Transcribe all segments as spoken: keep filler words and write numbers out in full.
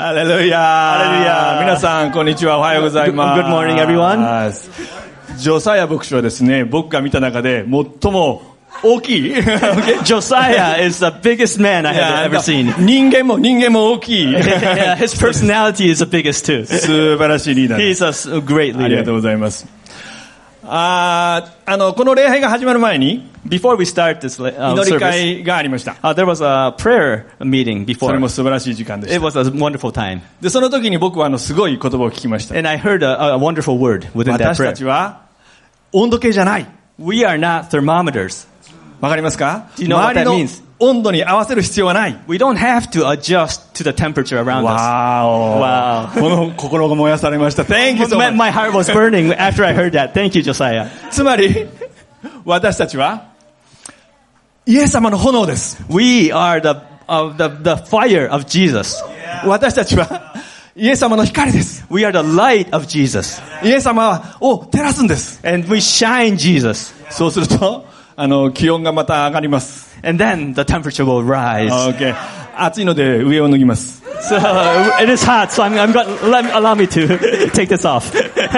ハレルヤハレルヤ皆さんこんにちは、おはようございます。 Good morning, everyone. ジョサヤ牧師はですね、僕が見た中で最も大きい Josiah is the biggest man I have ever seen. 人間も人間も大きい Yeah, his personality is the biggest too. 素晴らしいリーダーです。 He's a great ありがとう leader. ございます。ああのこの礼拝が始まる前に Before we start this uh, 祈り service, 会がありました。 uh, there was a prayer meeting それ before. も素晴らしい時間でし It た。 was a wonderful time. でその時に僕はあのすごい言葉を聞きました。 And I heard a, a wonderful word within that 私た prayer. ちは温度計じゃない。 We are not thermometers. わかりますか？ Do you know what 周 that りの means? 温度に合わせる必要はない。 We don't have to adjust to the temperature around us. わーお。 わーこの心が燃やされました。Thank you so My, much. my heart was burning after I heard that. Thank you, Josiah. つまり私たちはイエス様の炎です。 We are the, uh, the, the fire of Jesus. 私たちはイエス様の光です。 We are the light of Jesus. イエス様を照らすんです。 And we shine Jesus. そうするとあの気温がまた上がります。 And then the temperature will rise. Okay. 暑いので上を脱ぎます。 So uh, it is hot, so I'm, I'm going let me, allow me to take this off.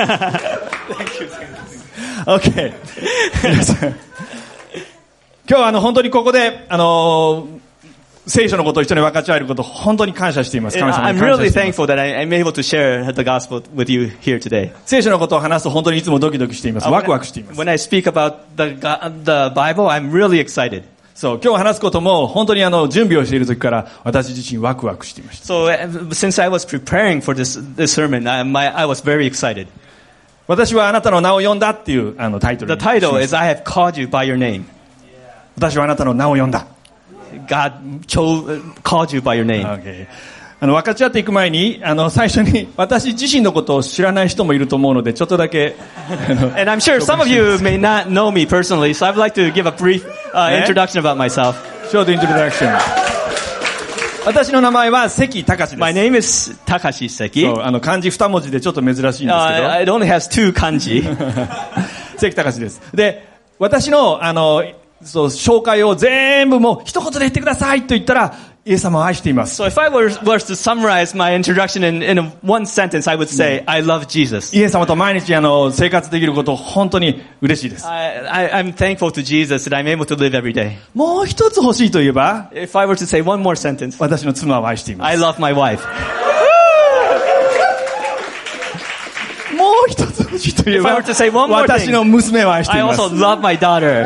Okay. 皆さん今日はあの本当にここであの聖書のことを一緒に分かち合えることを本当に感謝しています。 And 神様に I'm 感謝 really しています。 thankful that I, I'm able to share the gospel with you here today. 聖書のことを話すと本当にいつもドキドキしています。ワクワクしています。 When I speak about the, the Bible, I'm really excited. そう、今日話すことも本当にあの準備をしている時から私自身ワクワクしていました。 So uh, since I was preparing for this, this sermon, I, my, I was very excited. 私はあなたの名を呼んだっていうあのタイトル The にしました。 title is I have called you by your name. 私はあなたの名を呼んだ。 God chose, uh, called you by your name. Okay. あの分かち合っていく前にあの最初に私自身のことを知らない人もいると思うのでちょっとだけ And I'm sure some of you may not know me personally, so I'd like to give a brief uh, Yeah? introduction about myself. Short introduction. 私の名前は関隆です。 My name is Takashi そう Seki. あの漢字二文字でちょっと珍しいんですけど、 Uh, it only has two kanji. 関隆です。で、私のあのそう紹介を全部もう一言で言ってくださいと言ったらイエス様を愛しています。 So if I were, was to summarize my introduction in, in a, one sentence, I would say, I love Jesus. イエス様と毎日あの生活できること本当に嬉しいです。 I, I, I'm thankful to Jesus that I'm able to live every day. もう一つ欲しいといえば、 If I were to say one more sentence, 私の妻を愛しています。 I love my wife. もう一つ欲しいといえ If I ば were to say one more 私 thing, の娘を愛してい I ます。 also love my daughter.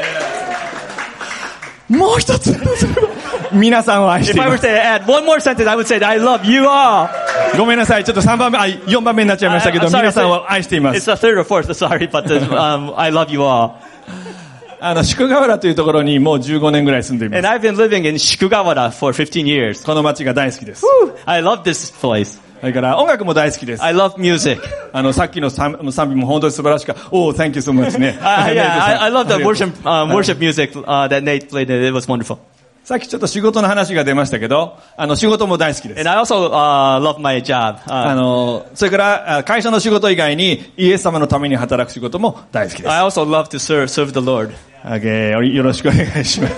もう一つ皆さんを愛して If い I ま were す。 to add one more sentence, I would say that I love you all. ごめんなさい、ちょっと三番目、あ、四番目になっちゃいましたけど、 I- I'm sorry, 皆さんを愛していま It's す。 the third or fourth, sorry, but the, um, I love you all. あの宿河原というところにもうじゅうごねんぐらい住んでいま And す。 I've been living in Shikugawara for fifteen years. この街が大好きです。 I love this place. それから音楽も大好きです。 I love music. あのさっきの賛賛美も本当に素晴らしかった。おー、Thank you so much ね。 Uh, yeah, I, I love the ありがとう worship, uh, worship music uh, that Nate played. It was wonderful. さっきちょっと仕事の話が出ましたけど、あの仕事も大好きです。 And I also uh, love my job. あ Uh, のそれからあ会社の仕事以外にイエス様のために働く仕事も大好きです。 I also love to serve, serve the Lord. Okay, よろしくお願いします。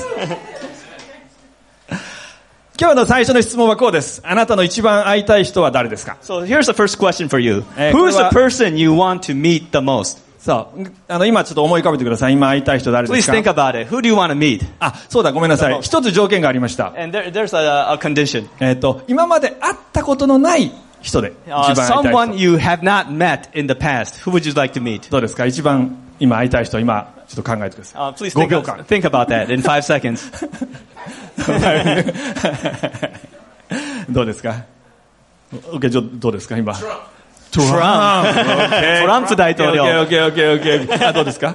今日の最初の質問はこうです。あなたの一番会いたい人は誰ですか？ So here's the first question for you. Eh, Who's the これは- person you want to meet the most? そうあの今ちょっと思い浮かべてください。今会いたい人誰で Please す think か？ about it. Who do you want to meet? あ、そうだ、ごめんなさい。一つ条件がありました。 And there, there's a, a condition. えっと今まで会ったことのない人で一 Uh, 番会いたい someone 人。 you have not met in the past. Who would you like to meet? どうですか？一番今会いたい人、今ちょっと考えてください。 Uh, please ご think, びょうかん。 think about that in five seconds. どうですか？ OK、じゃあどうですか今？トランプ。 OK トランプ大統領。 OK、OK、OK、OK。あ、どうですか？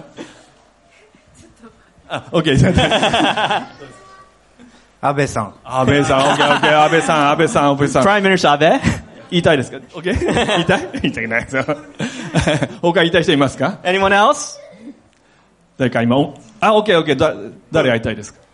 あ、OK。じゃあ安倍さん。 安倍さん、OK、OK。安倍さん、安倍さん、安倍さん。 Prime Minister Abe? 言いたいですか？ OK？ 言いたい？言いたくないですよ。他言いたい人いますか？ Anyone else? 誰か今、おあ、OK、OK。だ誰会いたいですか？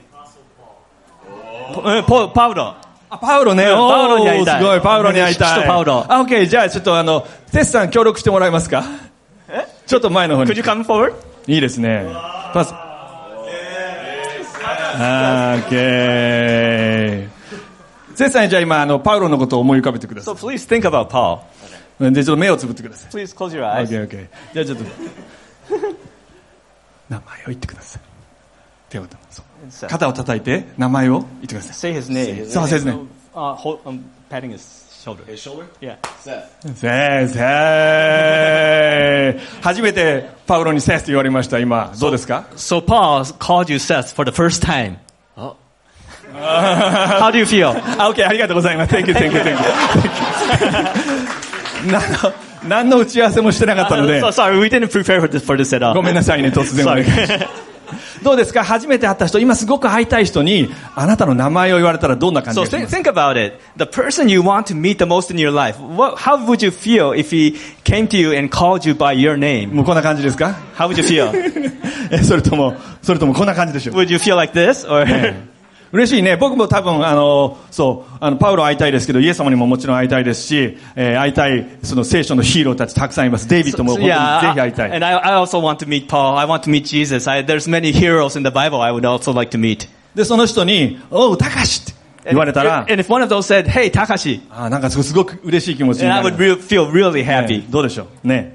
Pa- Paulo. あ、パウロね。 うんパウロに会いたいおーすごい、パウロに会いたい。 首都パウロあ、OK。じゃあちょっとあの、テスさん協力してもらえますか？ちょっと前の方に Could。you come forward? いいですね。パス。あー、OK。 セさん、じゃあ今、あの、パウロのことを思い浮かべてくださ So please think about Paul. い。で、ちょっと目をつぶってください。 Please close your eyes. OK, OK. じゃあちょっと、名前を言ってください。手を、そう。肩を叩いて、名前を言ってください。 Say his name. そう、先生。 Uh, hold, um, patting his shoulder. His shoulder? Yeah. Seth. 先生。初めてパウロにセスと言われました。今、どうですか？ So Paul called you Seth for the first time. Oh. How do you feel? あ、OK、ありがとうございます。Thank you, thank you, thank you. 何の、何の打ち合わせもしてなかったので So、sorry, we didn't prepare for this, for this at all. ごめんなさいね、突然お願いします。どうですか？初めて会った人、今すごく会いたい人に、あなたの名前を言われたらどんな感じ So がしま think, す think about it. The person you want to meet the most in your life, what, how would you feel if he came to you and called you by your name? もうこんな感じですか？ How would you feel? え、それとも、それともこんな感じでしょう。 Would you feel like this? Or 嬉しいね。僕も多分、あの、そう、あの、パウロ会いたいですけど、イエス様にももちろん会いたいですし、えー会いたい、その聖書のヒーローたちたくさんいます。デイビッドも So, 本当に yeah, ぜひ会いたい。 and I, I also want to meet Paul. I want to meet Jesus. I, there's many heroes in the Bible I would also like to meet. で、その人に、おう、たかしって言われたら、 And if one of those said, "Hey, Takashi," あーなんかすごく嬉しい気持ちに and な I る。 would re- feel really ね happy. どうでしょうね。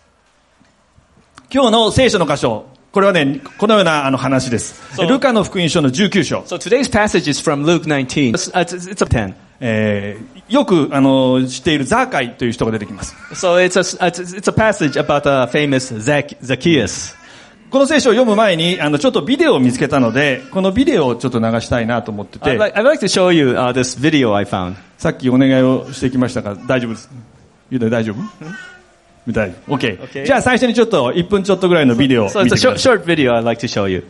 今日の聖書の箇所、これはね、このようなあの話です。 そうルカの福音書のじゅうきゅう章。 So today's passage is from Luke nineteen. It's, it's, it's a ten. えーよくあの知っているザーカイという人が出てきます。 So it's a, it's, it's a passage about the famous Zac- Zacchaeus. この聖書を読む前にあのちょっとビデオを見つけたので、このビデオをちょっと流したいなと思ってて、 I'd like, I'd like to show you uh, this video I found. さっきお願いをしてきましたが大丈夫です。ゆうだ大丈夫？みたい。OK。 Okay. じゃあ最初にちょっといっぷんちょっとぐらいのビデオを So 見 it's て a ください。 short, short video I'd like to show you.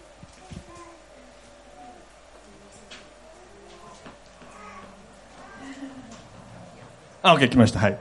あ、OK 来ました。はい。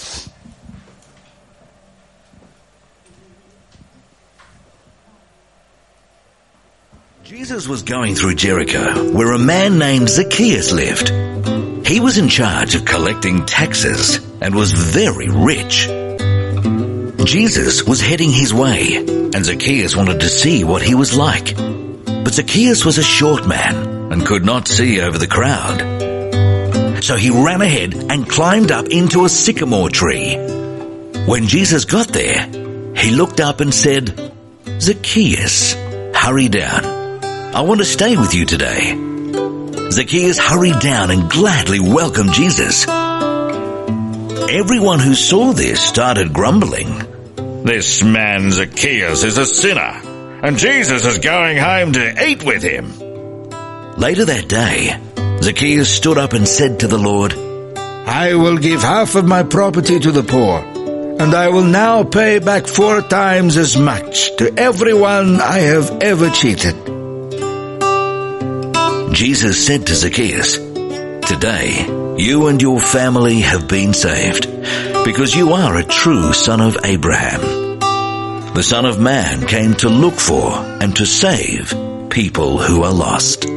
Jesus was going through Jericho, where a man named Zacchaeus lived. He was in charge of collecting taxes and was very rich. Jesus was heading his way, and Zacchaeus wanted to see what he was like. But Zacchaeus was a short man and could not see over the crowd. So he ran ahead and climbed up into a sycamore tree. When Jesus got there, he looked up and said, "Zacchaeus, hurry down. I want to stay with you today." Zacchaeus hurried down and gladly welcomed Jesus. Everyone who saw this started grumbling. This man Zacchaeus is a sinner, and Jesus is going home to eat with him. Later that day, Zacchaeus stood up and said to the Lord, I will give half of my property to the poor, and I will now pay back four times as much to everyone I have ever cheated. Jesus said to Zacchaeus, "Today, you and your family have been saved, because you are a true son of Abraham. The Son of Man came to look for and to save people who are lost."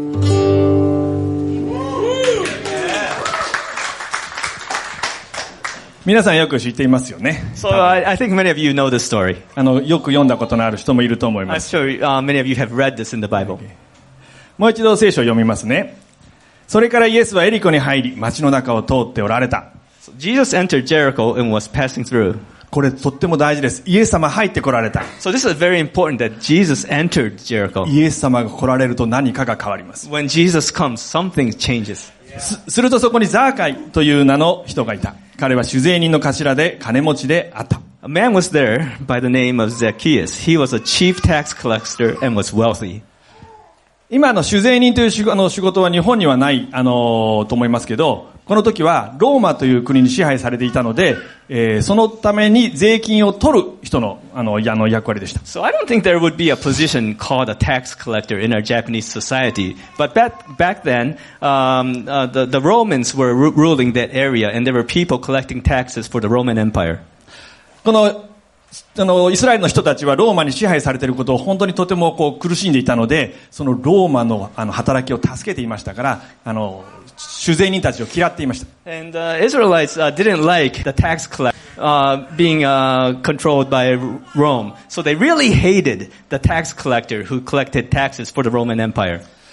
皆さんよく知っていますよね。 So I, I think many of you know this story. あのよく読んだことのある人もいると思いま I'm す。 sure uh, many of you have read this in the Bible. もう一度聖書を読みますね。それからイエスはエリコに入り、町の中を通っておられた。 So Jesus entered Jericho and was passing through. これとっても大事です。イエス様入ってこられた。 So this is very important that Jesus entered Jericho. イエス様が来られると何かが変わります。 When Jesus comes, something changes. す、するとそこにザーカイという名の人がいた。彼は酒税人の頭で金持ちであった。 A man was there by the name of Zacchaeus. He was a chief tax collector and was wealthy. 今の酒税人という仕あの仕事は日本にはない、あのーと思いますけど、この時はローマという国に支配されていたので、えーそのために税金を取る人のあのあの役割でした。 So I don't think there would be a position called a tax collector in our Japanese society. But back, back then, um, uh, the, the Romans were ru- ruling that area, and there were people collecting taxes for the Roman Empire. このあのイスラエルの人たちはローマに支配されていることを本当にとてもこう苦しんでいたので、そのローマのあの働きを助けていましたから、あの酒税人たちを嫌っていました。 And the uh, Israelites uh, didn't like the tax collector uh, being uh, controlled by Rome. So they really hated the tax collector who collected taxes for the Roman Empire.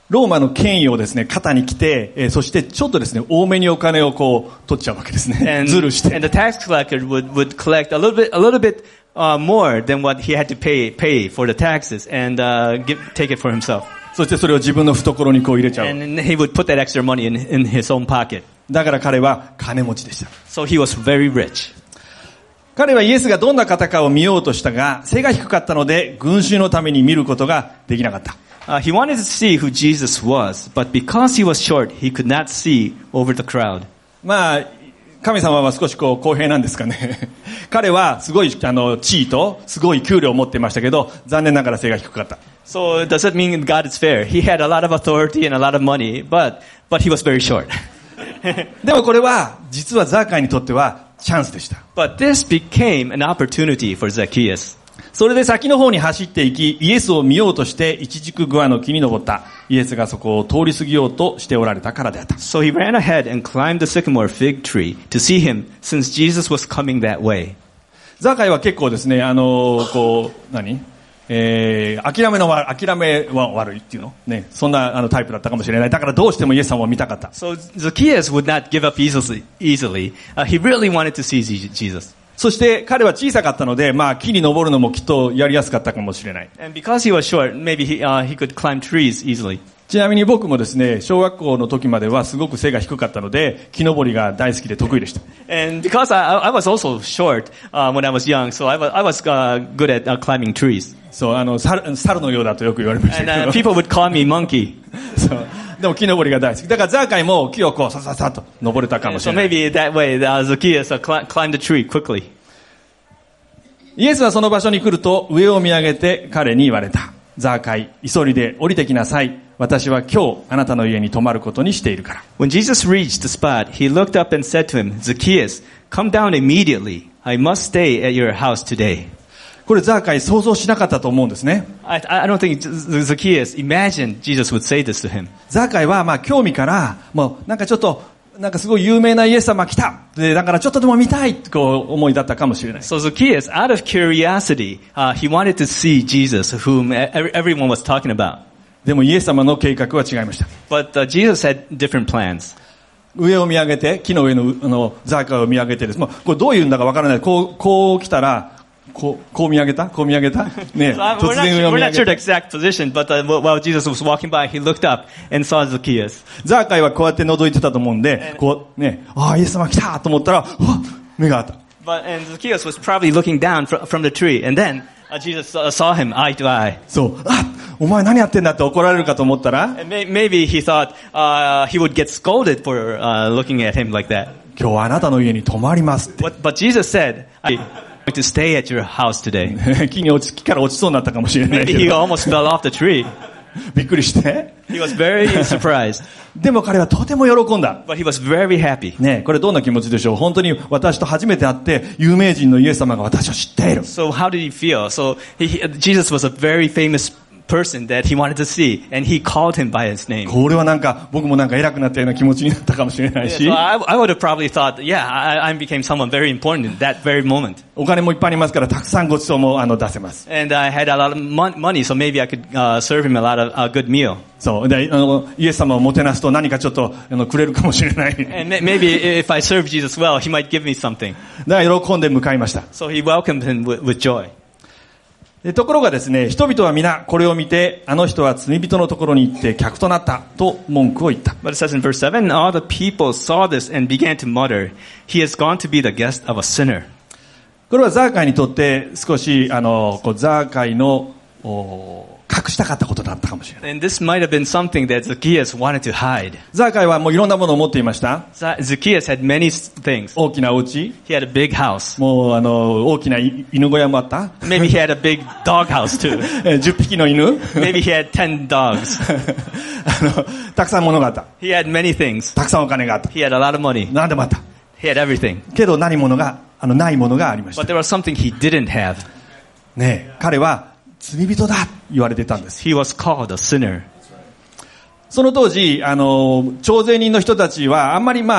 ローマの権威をですね、肩に来て、えー、そしてちょっとですね、多めにお金をこう、取っちゃうわけですね。 And, ズルして。 and the tax collector would, would collect a little bit, a little bit, uh, more than what he had to pay, pay for the taxes and, uh, give, take it for himself. そしてそれを自分の懐にこう入れちゃう。 And he would put that extra money in, in his own pocket. だから彼は金持ちでした。 So he was very rich. 彼はイエスがどんな方かを見ようとしたが、背が低かったので、群衆のために見ることができなかった。 Uh, he wanted to see who Jesus was, but because he was short, he could not see over the crowd. まあ、神様は少しこう公平なんですかね。彼はすごいあの地位とすごい給料を持っていましたけど、残念ながら背が低かった。 So does it mean God is fair? He had a lot of authority and a lot of money, but, but he was very short. でもこれは、実はザーカイにとってはチャンスでした。 But this became an opportunity for Zacchaeus. それで先の方に走っていき、イエスを見ようとして一軸グアの木に登った。イエスがそこを通り過ぎようとしておられたからであった。 So he ran ahead and climbed the sycamore fig tree to see him, since Jesus was coming that way. ザーカイは結構ですね、あのー、こう、何えー、諦めのわ、諦めは悪いっていうのね、そんなあのタイプだったかもしれない。だからどうしてもイエス様を見たかった。 So Zacchaeus would not give up easily. easily. Uh, he really wanted to see Jesus. そして彼は小さかったので、まあ木に登るのもきっとやりやすかったかもしれない。 And because he was short, maybe he, uh, he could climb trees easily. ちなみに僕もですね、小学校の時まではすごく背が低かったので、木登りが大好きで得意でした。 And because I, I was also short uh, when I was young, so I was, I was uh, good at uh, climbing trees. そう、あの、猿、猿のようだとよく言われましたけ And ど。 uh, people would call me monkey. そう。でも木登りが大好き。だからザーカイも木をこうさささっと登れたかもし So れない。 maybe that way, uh, Zacchaeus uh, cl- climbed the tree quickly. イエスはその場所に来ると上を見上げて彼に言われた。ザーカイ、急いで降りてきなさい。私は今日あなたの家に泊まることにしているから。 When Jesus reached the spot, he looked up and said to him, Zacchaeus, come down immediately. I must stay at your house today. これザーカイ想像しなかったと思うんですね。 I, I don't think Zacchaeus imagined Jesus would say this to him. ザーカイはまあ興味からもうなんかちょっとなんかすごい有名なイエス様来た。でだからちょっとでも見たいってこう思いだったかもしれない。 So Zacchaeus, out of curiosity, uh, he wanted to see Jesus, whom everyone was talking about. でもイエス様の計画は違いました。 But uh, Jesus had different plans. 上を見上げて木の上のあのザーカイを見上げてです。もうこれどういうんだかわからない。こうこう来たら。こう、こう見上げたこう見上げたね、 so, 突然上を見上げた。We're not sure the exact position, but uh, while Jesus was walking by, he looked up and saw Zacchaeus. ザーカイはこうやって覗いてたと思うんで、こうね、ああ、イエス様来たと思ったら、目があった。 But, and Zacchaeus was probably looking down from, from the tree, and then uh, Jesus saw him eye to eye. そう、あ、お前何やってんだって怒られるかと思ったら、 and may, maybe he thought uh, he would get scolded for uh, looking at him like that. 今日はあなたの家に泊まりますって。 But, but Jesus said, I'm going to stay at your house today. 木に落ち、木から落ちそうになったかもしれないけど。 Maybe he almost fell off the tree. びっくりして。 He was very surprised. でも彼はとても喜んだ。 But he was very happy. ね、これどんな気持ちでしょう。本当に私と初めて会って有名人のイエス様が私を知っている。 So how did he feel? So he, Jesus was a very famous person that he wanted to see, and he called him by his name. これはなんか僕もなんか偉くなったような気持ちになったかもしれないし。 Yeah, so I, I would have probably thought, yeah, I, I became someone very important in that very moment. お金もいっぱいありますからたくさんご馳走もあの出せます。 And I had a lot of money, so maybe I could uh, serve him a lot of a good meal. そうであのイエス様をもてなすと何かちょっとあのくれるかもしれない。 And maybe if I serve Jesus well, he might give me something. だから喜んで迎えました。 So he welcomed him with, with joy. ところがですね、人々は皆これを見て、あの人は罪人のところに行って客となったと文句を言った。 But it says in verse seven, all the people saw this and began to mutter, he has gone to be the guest of a sinner. これはザーカイにとって少しあのこうザーカイの隠したかったことだったかもしれない。 And this might have been something that Zacchaeus wanted to hide. ザーカイはもういろんなものを持っていました。 Zacchaeus had many things. 大きなお家。 He had a big house. もうあの大きな犬小屋もあった。 Maybe he had a big dog house too. じゅっぴきの犬。 Maybe he had ten dogs. あのたくさん物があった。 He had many things. たくさんお金があった。 He had a lot of money. 何でもあった。 He had everything. けど何ものがあのないものがありました。 But there was something he didn't have. ねえ、彼は罪人だ言われてたんです。 He was called a sinner. その当時、あの、徴税人の人たちはあんまりまあ、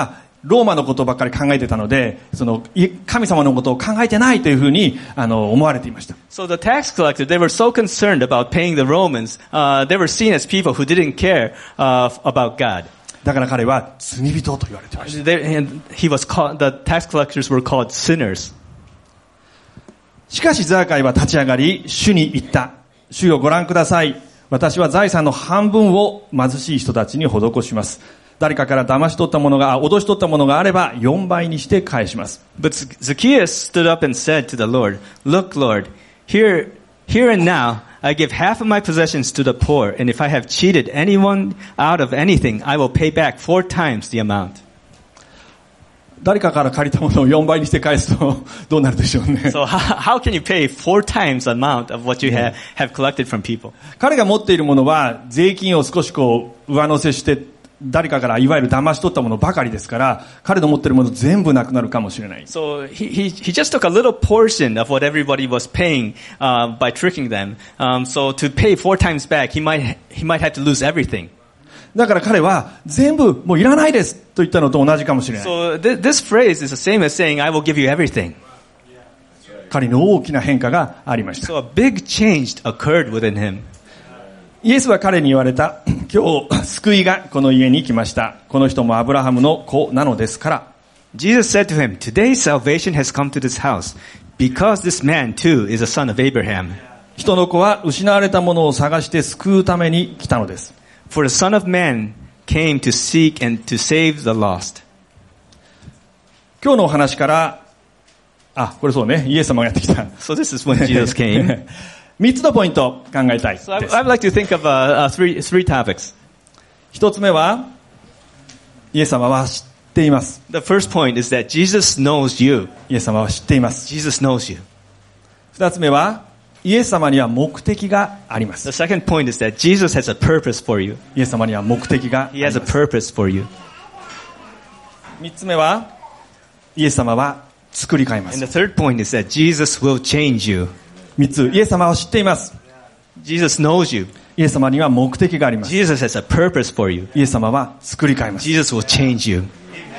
ローマのことばっかり考えてたので、その神様のことを考えてないというふうにあの思われていました。 So the tax collectors, they were so concerned about paying the Romans, uh, they were seen as people who didn't care uh, about God. だから彼は罪人と言われていました。 They, and he was called, the tax collectors were called sinners. しかしザーカイは立ち上がり、主に言った。主よご覧ください。私は財産の半分を貧しい人たちに施します。誰かから騙し取ったものが、脅し取ったものがあればよんばいにして返します。 But Zacchaeus stood up and said to the Lord, Look, Lord, here, here and now, I give half of my possessions to the poor, and if I have cheated anyone out of anything, I will pay back four times the amount. 誰かから借りたものをよんばいにして返すとどうなるでしょうね。 So how, how can you pay four times the amount of what you have, have collected from people? 彼が持っているものは税金を少しこう上乗せして誰かからいわゆる騙し取ったものばかりですから、彼の持っているもの全部なくなるかもしれない。 So he, he, he just took a little portion of what everybody was paying uh, by tricking them. Um, so to pay four times back, he might, he might have to lose everything. だから彼は全部もういらないですと言ったのと同じかもしれない。 So th- this phrase is the same as saying, I will give you everything. 彼の大きな変化がありました。 So a big change occurred within him. イエスは彼に言われた。今日救いがこの家に来ました。この人もアブラハムの子なのですから。 Jesus said to him, Today salvation has come to this house, because this man too is a son of Abraham. 人の子は失われたものを探して救うために来たのです。 For the Son of Man came to seek and to save the lost. 今日のお話から、あ、これそうね、イエス様がやってきた。 So this is when Jesus came. 三つのポイント考えたいです。 So I, I'd like to think of uh, uh, three, three topics. 一つ目は、イエス様は知っています。 The first point is that Jesus knows you. イエス様は知っています。 Jesus knows you. 二つ目は、イエス様には目的があります。 The second point is that Jesus has a purpose for you. イエス様には目的があり He ま has a す。 purpose for you. 三つ目は、イエス様は作り変えま And す。 the third point is that Jesus will change you. 三つ、イエス様は知っています。 Jesus knows you. イエス様には目的があります。 Jesus has a purpose for you. イエス様は作り変えます。 Jesus will change you.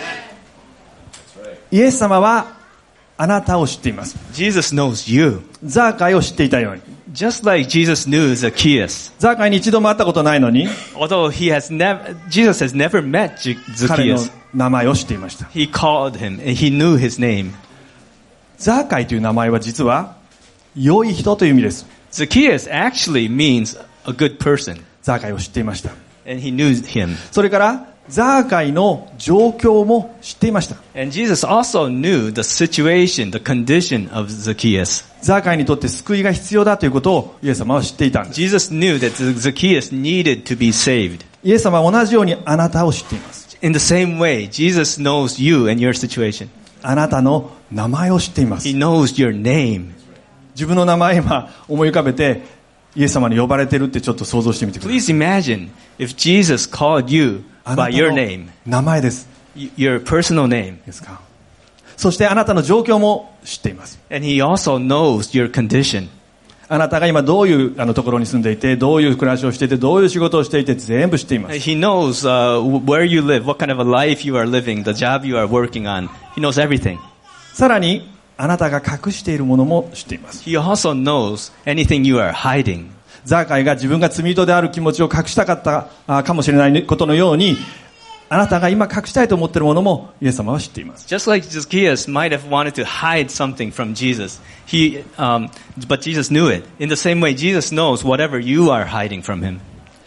イエス様はあなたを知っています。 Jesus knows you. ザーカイを知っていたように。 Just like Jesus knew Zacchaeus. ザーカイに一度も会ったことないのに、 Although he has never, Jesus has never met J- 彼の Zacchaeus. 名前を知っていました。 He called him and he knew his name. ザーカイという名前は実は良い人という意味です。 Zacchaeus actually means a good person. ザーカイを知っていました。 And he knew him. それからザーカイの状況も知っていました。 And Jesus also knew the situation, the condition of Zacchaeus. ザーカイにとって救いが必要だということをイエス様は知っていたんです。 Jesus knew that Zacchaeus needed to be saved. イエス様は同じようにあなたを知っています。 In the same way, Jesus knows you and your situation. あなたの名前を知っています。 He knows your name. 自分の名前今思い浮かべてイエス様に呼ばれてるってちょっと想像してみてください。 Please imagine if Jesus called you あな by た your の name, 名前です。 y- your personal name. ですか。そしてあなたの状況も知っています。 And he also knows your condition. あなたが今どういうあのところに住んでいて、どういう暮らしをしていて、どういう仕事をしていて全部知っています。 He knows uh, where you live, what kind of a life you are living, the job you are working on. He knows everything. さらにあなたが隠しているものも知っています。 He also knows anything you are hiding. ザーカイが自分が罪人である気持ちを隠したかったあかもしれないことのように、あなたが今隠したいと思っているものもイエス様は知っています。 Just like Zacchaeus might have wanted to hide something from Jesus, he, um, but Jesus knew it. In the same way, Jesus knows whatever you are hiding from him.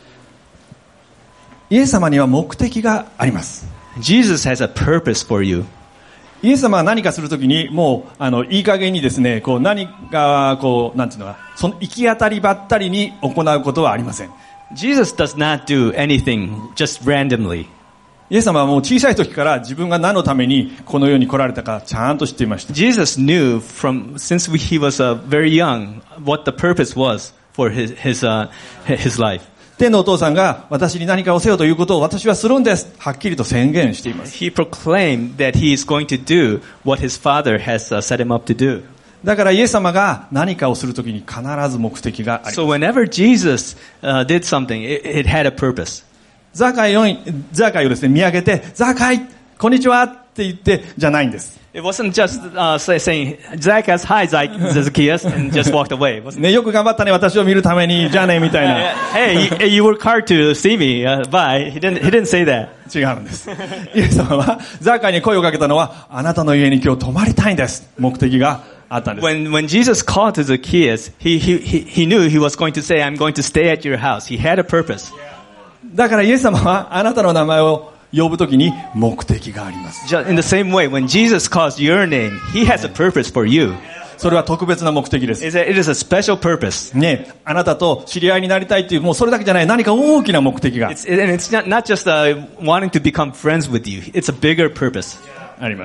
イエス様には目的があります。 Jesus has a purpose for you. イエス様は何かするときにもうあのいい加減にですね、こう何かこうなんていうのか、その行き当たりばったりに行うことはありません。 Jesus does not do anything just randomly. イエス様はもう小さい時から自分が何のためにこの世に来られたかちゃんと知っていました。 Jesus knew from since he was uh, very young what the purpose was for his his uh, his life. 天のお父さんが私に何かをせよということを私はするんです。はっきりと宣言しています。 He proclaimed that he is going to do what his father has uh, set him up to do. だからイエス様が何かをするときに必ず目的があります。 So whenever Jesus uh, did something, it, it had a purpose. ザーカイを、ザーカイをですね、見上げて、ザーカイ、こんにちは。 って言ってじゃないんです。 It wasn't just uh, say, saying, Zacchaeus, hi Zacchaeus, and just walked away. It wasn't, ね、よく頑張ったね、私を見るために、じゃあね、みたいな。 hey, you, you work hard to see me, uh, bye. He didn't, he didn't say that. 違うんです。イエス様は、ザーカイに声をかけたのは、あなたの家に今日泊まりたいんです。目的があったんです。 When, when Jesus called to Zacchaeus, he, he, he, he knew he was going to say, I'm going to stay at your house. He had a purpose. だからイエス様は、あなたの名前を呼ぶときに目的があります。 Just in the same way, when Jesus calls your name, he has a purpose for you. それは特別な目的です。 It is a special purpose. ね、あなたと知り合いになりたいっていう、もうそれだけじゃない、何か大きな目的が。 It's, and it's not, not just uh, wanting to become friends with you. It's a bigger purpose. あります。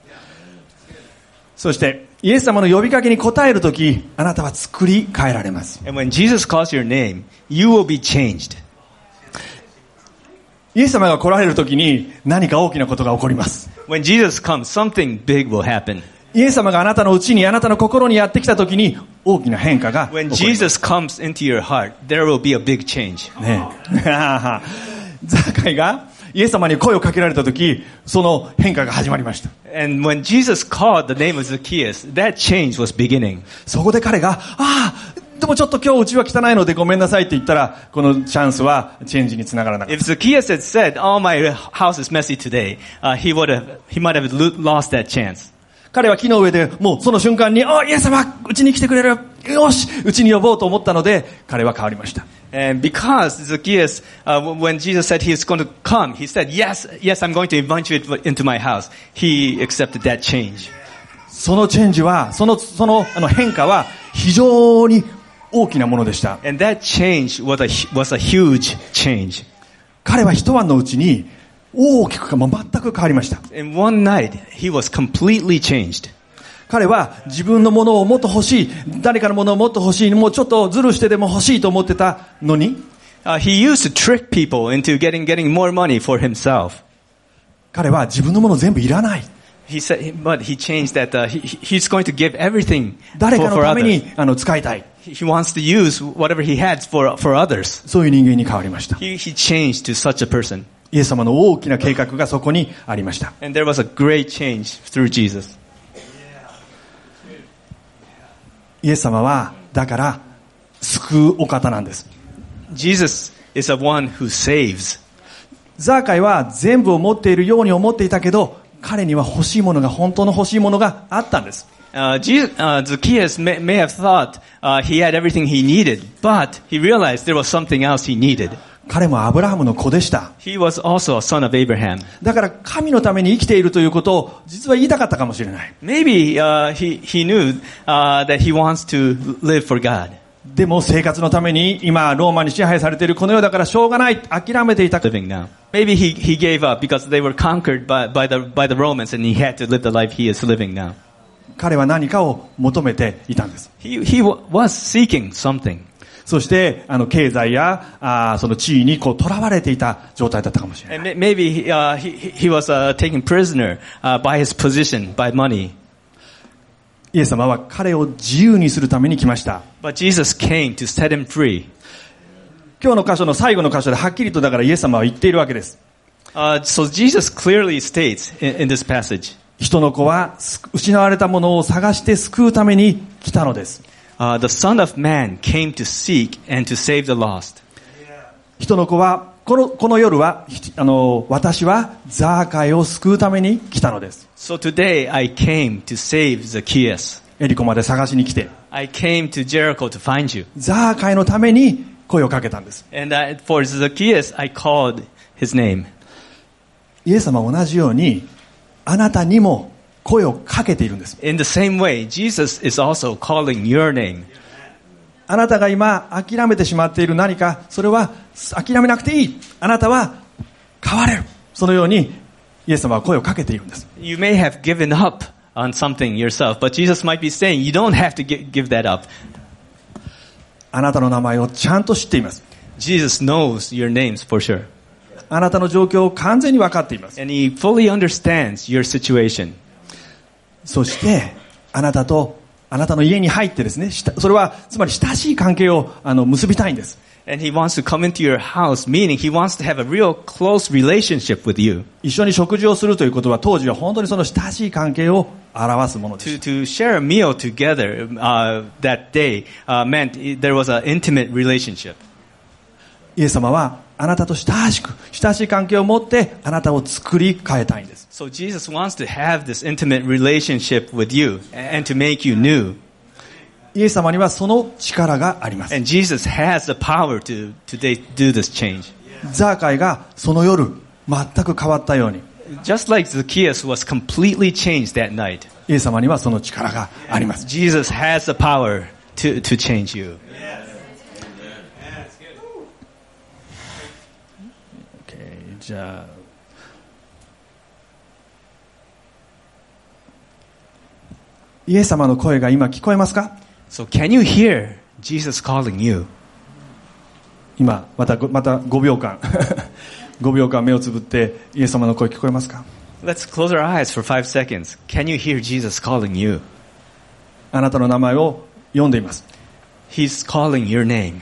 そして、イエス様の呼びかけに応えるとき、あなたは作り変えられます。 And when Jesus calls your name, you will be changed. イエス様が来られるときに何か大きなことが起こります。 When Jesus comes, something big will happen. イエス様があなたのうちに、あなたの心にやってきたときに大きな変化が起こります。 When Jesus comes into your heart, there will be a big change. ねザーカイがイエス様に声をかけられたとき、その変化が始まりました。 And when Jesus called the name of Zacchaeus, that change was beginning. そこで彼が、ああ、でもちょっと今日うちは汚いのでごめんなさいって言ったら、このチャンスはチェンジにつながらなかった。 If Zacchaeus had said, "Oh, my house is messy today," uh, he would have, he might have lost that chance. 彼は木の上でもうその瞬間に、あ、イエス様、うちに来てくれる。よし、うちに呼ぼうと思ったので、彼は変わりました。 And because Zacchaeus, uh, when Jesus said he was going to come, he said, "Yes, yes, I'm going to invite you into my house." He accepted that change. そのチェンジは、そのそのあの変化は非常に大きなものでした。 And that change was a, was a huge change. 彼は一晩のうちに大きくかも全く変わりました。 In one night, he was completely changed. 彼は自分のものをもっと欲しい、誰かのものをもっと欲しい、もうちょっとズルしてでも欲しいと思ってたのに、 uh, he used to trick people into getting, getting more money for himself. 彼は自分のもの全部いらない。 He said, but he changed that uh, he, he's going to give everything 誰 for, かの for ため others. にあの使いたい。 He wants to use whatever he has for, for others. そういう人間に変わりました。 He, he changed to such a person. イエス様の大きな計画がそこにありました。 And there was a great change through Jesus. イエス様はだから救うお方なんです。 Jesus is the one who saves. ザーカイは全部を持っているように思っていたけど、彼には欲しいものが、本当の欲しいものがあったんです。 Uh, Jesus, uh, Zacchaeus may, may have thought uh, he had everything he needed, but he realized there was something else he needed. 彼もアブラハムの子でした。 He was also a son of Abraham. だから神のために生きているということを実は言いたかったかもしれない。 Maybe uh, he, he knew uh, that he wants to live for God. でも生活のために今ローマに支配されているこの世だからしょうがない、諦めていた。 Living now. Maybe he, he gave up because they were conquered by, by, the, by the Romans and he had to live the life he is living now. 彼は何かを求めていたんです。 He, he was seeking something. そしてあの経済やあその地位にこう囚われていた状態だったかもしれない。 And maybe uh, he, he was uh, taken prisoner uh, by his position, by money. イエス様は彼を自由にするために来ました。 But Jesus came to set him free. 今日の箇所の最後の箇所ではっきりとだからイエス様は言っているわけです。 Uh, so Jesus clearly states in, in this passage, 人の子は失われたものを探して救うために来たのです。 uh, the Son of Man came to seek and to save the lost. 人の子はこの、この夜はあの私はザーカイを救うために来たのです。 So today I came to save Zacchaeus. エリコまで探しに来て I came to Jericho to find you. ザーカイのために声をかけたんです。 And uh, for Zacchaeus I called his name. イエス様は同じようにあなたにも声をかけているんです。 In the same way, Jesus is also calling your name. あなたが今諦めてしまっている何か、それは諦めなくていい。あなたは変われる。そのようにイエス様は声をかけているんです。 You may have given up on something yourself, but Jesus might be saying you don't have to give, give that up. あなたの名前をちゃんと知っています。 Jesus knows your names for sure. あなたの状況を完全に分かっています。 And he fully understands your situation. そしてあなたとあなたの家に入ってですね、それはつまり親しい関係をあの結びたいんです。 And he wants to come into your house, meaning he wants to have a real close relationship with you. 一緒に食事をするということは当時は本当にその親しい関係を表すものです。 To, to share a meal together uh, that day uh, meant there was an intimate relationship. イエス様はあなたと親しく、親しい関係を持ってあなたを作り変えたいんです。 So Jesus wants to have this intimate relationship with you and to make you new. イエス様にはその力があります。 And Jesus has the power to, to do this change. ザーカイがその夜全く変わったように。 Just like Zacchaeus was completely changed that night. イエス様にはその力があります。 Jesus has the power to, to change you. Okay, じゃあイエス様の声が今聞こえますか？ So can you hear Jesus calling you? 今またまたごびょうかんごびょうかん目をつぶってイエス様の声聞こえますか？ Let's close our eyes for five seconds. Can you hear Jesus calling you? あなたの名前を読んでいます。 He's calling your name.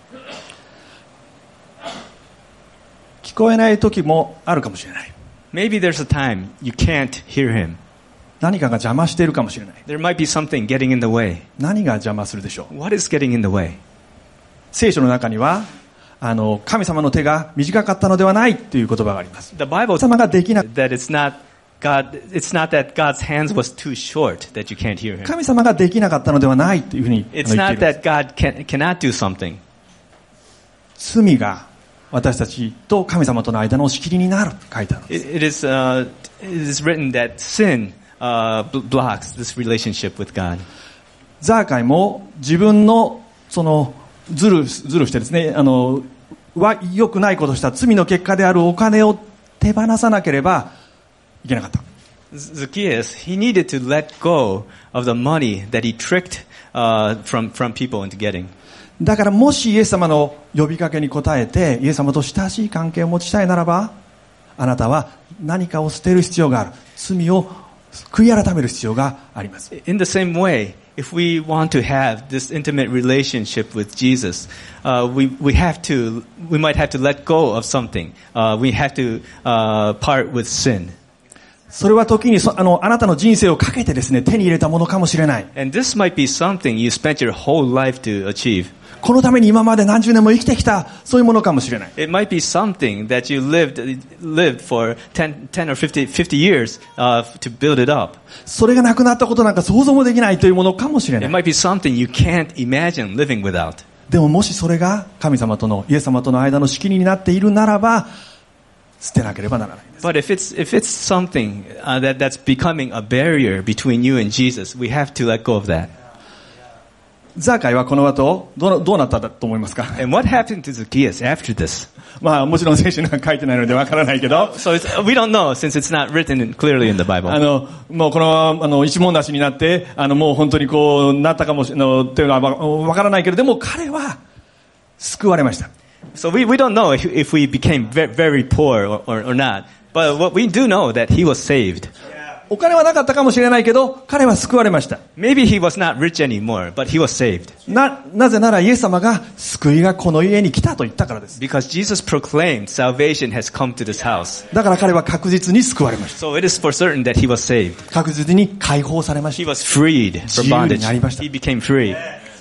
聞こえない時もあるかもしれない。 Maybe there's a time you can't hear him. 何かが邪魔しているかもしれない。 There might be something getting in the way. 何が邪魔するでしょう？ What is getting in the way? 聖書の中にはあの神様の手が短かったのではないという言葉があります。 The Bible 様ができな that it's not God. It's not that God's hands was too short that you can't hear him. 神様ができなかったのではないというふうに言ってい It's る。 not that God can, cannot do something. 罪が私たちと神様との間の仕切りになる書いてあるんです。 It, it is uh, it is written that sin uh, blocks this relationship with God. ザーカイも自分のそのずるずるしてですね、あのは良くないことをした罪の結果であるお金を手放さなければいけなかった。 Zacchaeus, he needed to let go of the money that he tricked uh, from from people into getting. だからもしイエス様の呼びかけに応えてイエス様と親しい関係を持ちたいならば、あなたは何かを捨てる必要がある。罪を悔い改める必要があります。 In the same way, if we want to have this intimate relationship with Jesus, uh, we we have to we might have to let go of something. Uh, we have to uh, part with sin. それは時にそあのあなたの人生をかけてですね手に入れたものかもしれない。 And this might be something you spent your whole life to achieve. このために今まで何十年も生きてきたそういうものかもしれない。 It might be something that you lived lived for ten, ten or fifty, fifty years uh, to build it up. それがなくなったことなんか想像もできないというものかもしれな It い。 might be something you can't imagine living without. でももしそれが神様とのイエス様との間の仕切りになっているならば捨てなければならない。 But if it's if it's something uh, that that's becoming a barrier between you and Jesus, we have to let go of that. ザーカイはこの後どうどうなったと思いますか？ And what happened to Zacchaeus after this? まあもちろん聖書には書いてないのでわからないけど、 So it's, we don't know since it's not written clearly in the あ Bible. のもうこのあの一文無しになってあのもう本当にこうなったかもしれないというのはわからないけれども、彼は救われました。 So we we don't know if, if we became very, very poor or, or, or not. But what we do know that he was saved. お金はなかったかもしれないけど彼は救われました。 Maybe he was not rich anymore, but he was saved. な、なぜならイエス様が救いがこの家に来たと言ったからです。 Because Jesus proclaimed salvation has come to this house. だから彼は確実に救われました。 So it is for certain that he was saved. 確実に解放されまし He た。 was freed from bondage. 自由になりました。 He became free.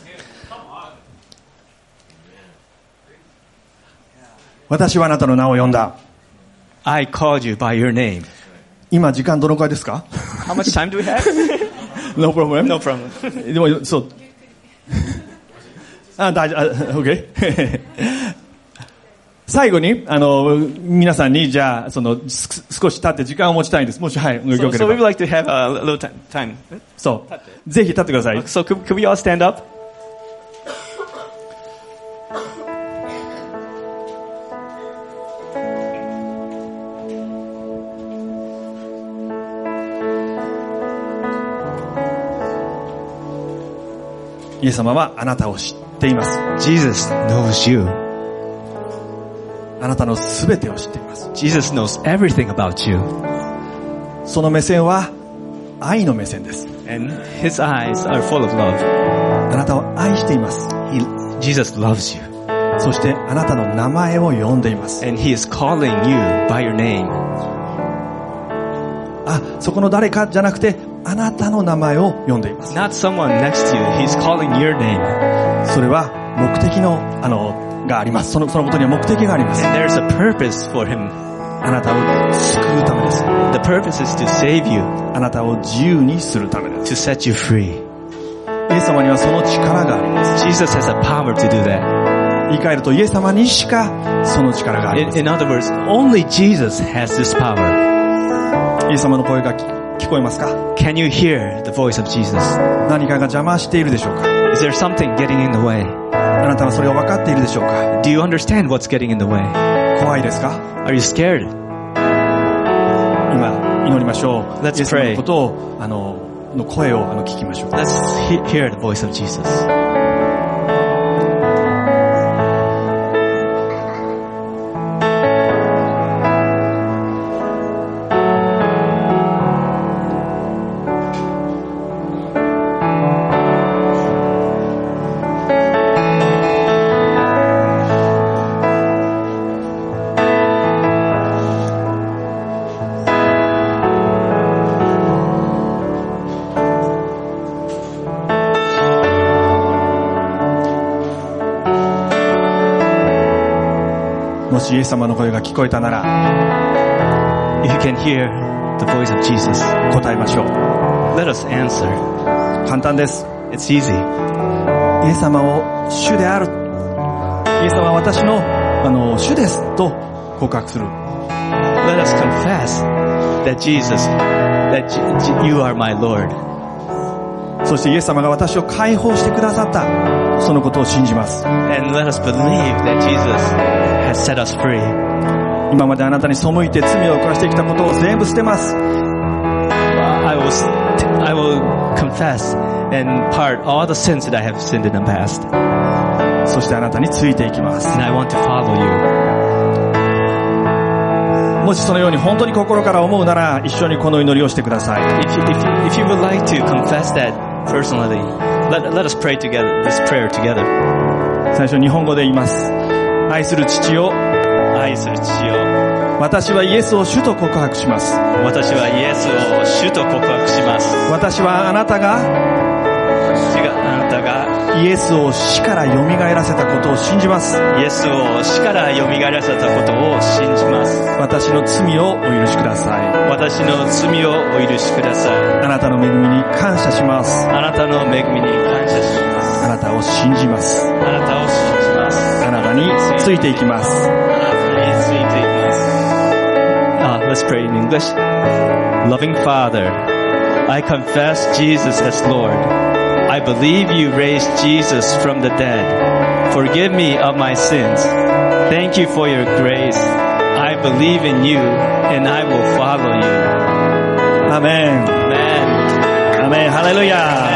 私はあなたの名を呼んだ。 I called you by your name. 今時間どのくらいですか？ How much time do we have? No problem. No problem. でもそう。あ、大丈夫。OK 最後にあの皆さんにじゃあそのす少し経って時間を持ちたいんです。もしはいよけ So, れ so we would ば。 like to have a little ti- time. そうぜひ立ってください。 So could, could we all stand up? イエス様はあなたを知っています。 Jesus knows you. あなたのすべてを知っています。 Jesus knows everything about you. その目線は愛の目線です。 And his eyes are full of love. あなたを愛しています。 He, Jesus loves you. そしてあなたの名前を呼んでいます。 And he is calling you by your name. あ、そこの誰かじゃなくて、あなたの名前を呼んでいます。 Not someone next to you. He's calling your name. それは目的の、あの、があります。その、そのことには目的があります。 And there's a purpose for him. あなたを救うためです。 The purpose is to save you, あなたを自由にするためです。 to set you free. イエス様にはその力があります。 Jesus has a power to do that. 言い換えるとイエス様にしかその力があります。 In, in other words, only Jesus has this power. イエス様の声が聞こえますか？ Can you hear the voice of Jesus? 何かが邪魔しているでしょうか？ Is there something getting in the way? あなたはそれを分かっているでしょうか？ Do you understand what's getting in the way? 怖いですか？ Are you scared? 今祈りましょう。 Let's イエス様 pray. のことをあのの声をあの聞きましょう。 Let's he- hear the voice of Jesus. もしイエス様の声が聞こえたなら If you can hear the voice of Jesus, 答えましょう。 let us answer. 簡単です。 It's easy. イエス様を主である。イエス様は私のあの主ですと告白する。 Let us confess that Jesus, that J- J- you are my Lord. そしてイエス様が私を解放してくださったそのことを信じます。 And let us believe that Jesus has set us free. 今まであなたに背いて罪を犯してきたことを全部捨てます。 I will, st- I will confess and part all the sins that I have sinned in the past. そしてあなたについていきます。 And I want to follow you. もしそのように本当に心から思うなら一緒にこの祈りをしてください。 If you, if you, if you would like to confess that personally, let, let us pray together, this prayer together. 最初日本語で言います。愛する父よ、 愛する父よ、 私はイエスを主と告白します。 私はイエスを主と告白します。 私はあなたが私があなたがイエスを死から蘇らせたことを信じます。 イエスを死から蘇らせたことを信じます。 私の罪をお許しください。 私の罪をお許しください。 あなたの恵みに感謝します。 あなたの恵みに感謝します。 あなたを信じます。 あなたを信じます。 あなたについていきます。 あなたについていきます。Ah, let's pray in English. Loving Father, I confess Jesus as Lord. I believe you raised Jesus from the dead. Forgive me of my sins. Thank you for your grace. I believe in you and I will follow you. アメン。 Amen. アメン。ハレルヤ。